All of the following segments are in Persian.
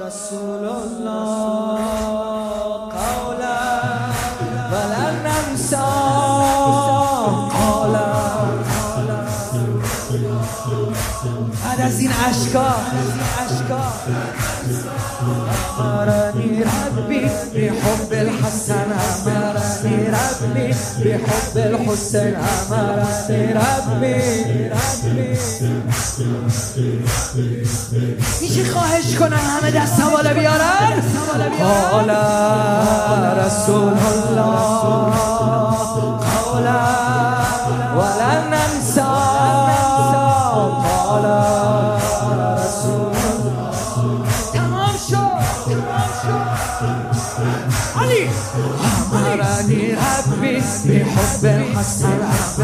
رسول الله قولا ولن ننسى قولا. بعد از این اشکا أمرني ربي بحب الحسن، أمرني ربي بحب الحسن، أمرني ربي. میشه خواهش کنم همه دست بالا بیارن؟ قال رسول الله قولا ولن ننسى قال رسول الله. تمام شد علی. أمرني ربي بحب الحسن،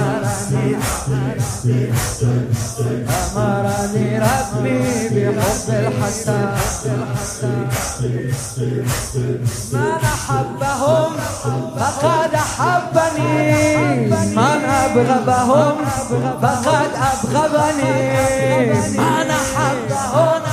أمرني ربي بحب الحسن. من أحبهم فقد أحبني، من أبغضهم فقد أبغضني. من أحبهم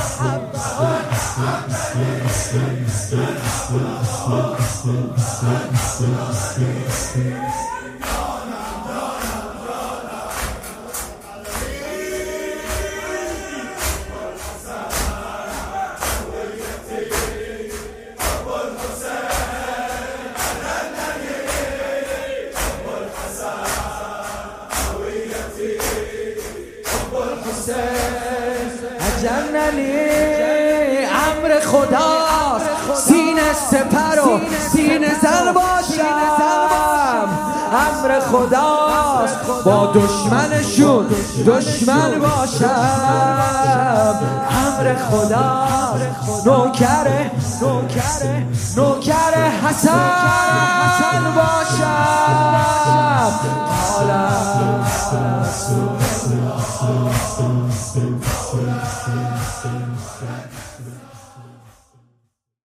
جننی امر خداست، سینه سپر و سینه زن باشم. امر خداست با دشمنشون دشمن باشم. امر خداست نوکر حسن باشم. قال رسول الله